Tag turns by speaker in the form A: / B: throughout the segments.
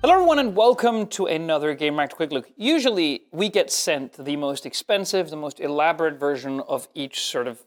A: Hello everyone and welcome to another Gamereactor Quick Look. Usually we get sent the most expensive, the most elaborate version of each sort of,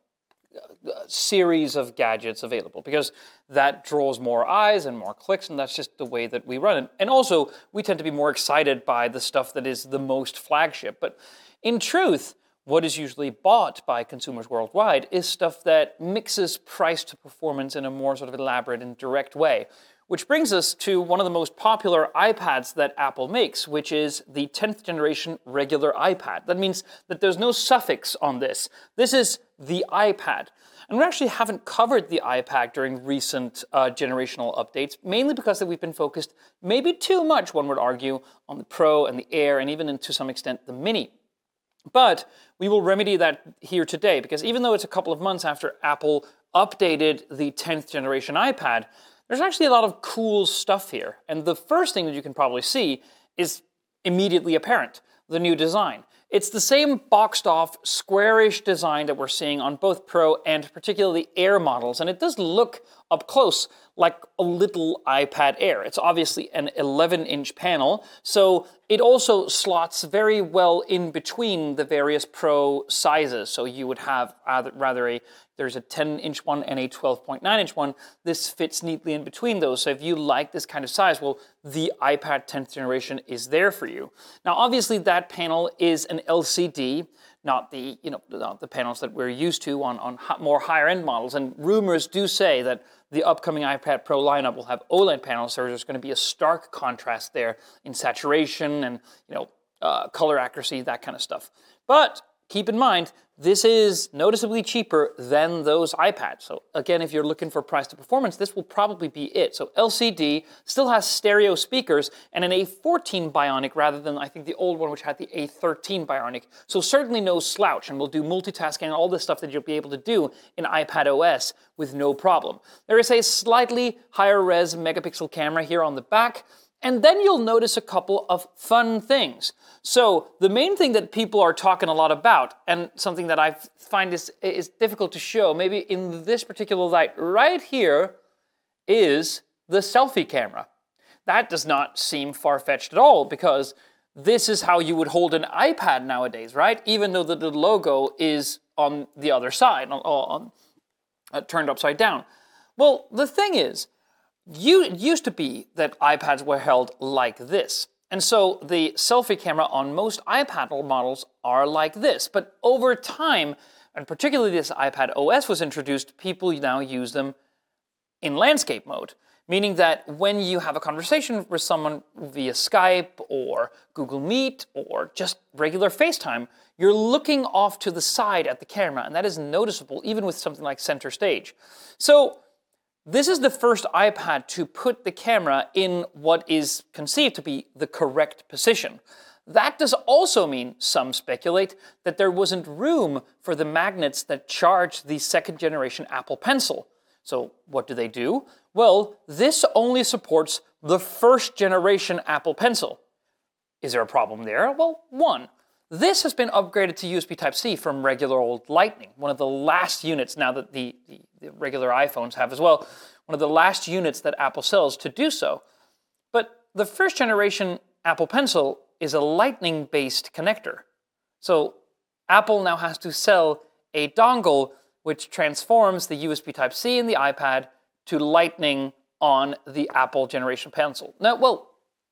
A: series of gadgets available because that draws more eyes and more clicks, and that's just the way that we run it. And also, we tend to be more excited by the stuff that is the most flagship. But in truth, what is usually bought by consumers worldwide is stuff that mixes price to performance in a more sort of elaborate and direct way. Which brings us to one of the most popular iPads that Apple makes, which is the 10th generation regular iPad. That means that there's no suffix on this. This is the iPad. And we actually haven't covered the iPad during recent generational updates, mainly because we've been focused maybe too much, one would argue, on the Pro and the Air, and even to some extent the Mini. But we will remedy that here today, because even though it's a couple of months after Apple updated the 10th generation iPad, there's actually a lot of cool stuff here. And the first thing that you can probably see is immediately apparent, the new design. It's the same boxed off, squarish design that we're seeing on both Pro and particularly Air models. And it does look up close like a little iPad Air. It's obviously an 11-inch panel, so it also slots very well in between the various Pro sizes. So you would have there's a 10-inch one and a 12.9-inch one. This fits neatly in between those. So if you like this kind of size, well, the iPad 10th generation is there for you. Now, obviously, that panel is an LCD, not the panels that we're used to on more higher-end models. And rumors do say that the upcoming iPad Pro lineup will have OLED panels, so there's going to be a stark contrast there in saturation and color accuracy, that kind of stuff. But keep in mind, this is noticeably cheaper than those iPads. So again, if you're looking for price to performance, this will probably be it. So LCD, still has stereo speakers, and an A14 Bionic rather than, I think, the old one which had the A13 Bionic. So certainly no slouch, and will do multitasking and all the stuff that you'll be able to do in iPad OS with no problem. There is a slightly higher res megapixel camera here on the back, and then you'll notice a couple of fun things. So the main thing that people are talking a lot about, and something that I find is difficult to show, maybe in this particular light right here, is the selfie camera. That does not seem far-fetched at all, because this is how you would hold an iPad nowadays, right? Even though the logo is on the other side, turned upside down. Well, the thing is, it used to be that iPads were held like this. And so the selfie camera on most iPad models are like this. But over time, and particularly this iPad OS was introduced, people now use them in landscape mode. Meaning that when you have a conversation with someone via Skype or Google Meet or just regular FaceTime, you're looking off to the side at the camera, and that is noticeable even with something like Center Stage. So this is the first iPad to put the camera in what is conceived to be the correct position. That does also mean, some speculate, that there wasn't room for the magnets that charge the second generation Apple Pencil. So what do? Well, this only supports the first generation Apple Pencil. Is there a problem there? Well, one, this has been upgraded to USB Type-C from regular old Lightning, one of the last units, now that the regular iPhones have as well, one of the last units that Apple sells to do so. But the first generation Apple Pencil is a Lightning-based connector. So Apple now has to sell a dongle which transforms the USB Type-C in the iPad to Lightning on the Apple generation Pencil. Now, well,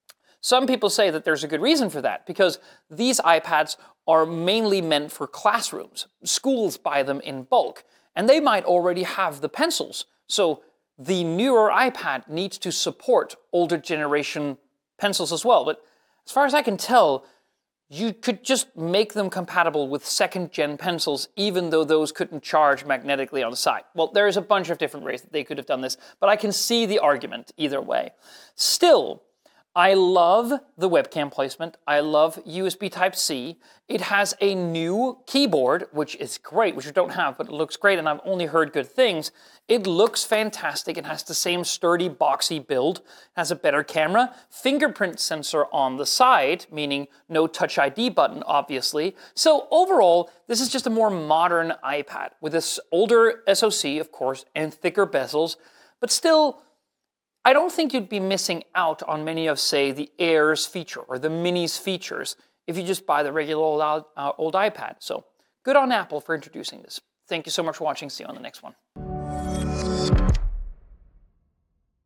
A: some people say that there's a good reason for that, because these iPads are mainly meant for classrooms. Schools buy them in bulk, and they might already have the pencils. So the newer iPad needs to support older generation pencils as well. But as far as I can tell, you could just make them compatible with second-gen pencils, even though those couldn't charge magnetically on the side. Well, there's a bunch of different ways that they could have done this, but I can see the argument either way. Still, I love the webcam placement. I love USB Type-C. It has a new keyboard, which is great, which you don't have, but it looks great, and I've only heard good things. It looks fantastic. It has the same sturdy, boxy build. It has a better camera. Fingerprint sensor on the side, meaning no Touch ID button, obviously. So overall, this is just a more modern iPad with this older SoC, of course, and thicker bezels, but still, I don't think you'd be missing out on many of, say, the Air's feature or the Mini's features if you just buy the regular old iPad. So good on Apple for introducing this. Thank you so much for watching. See you on the next one.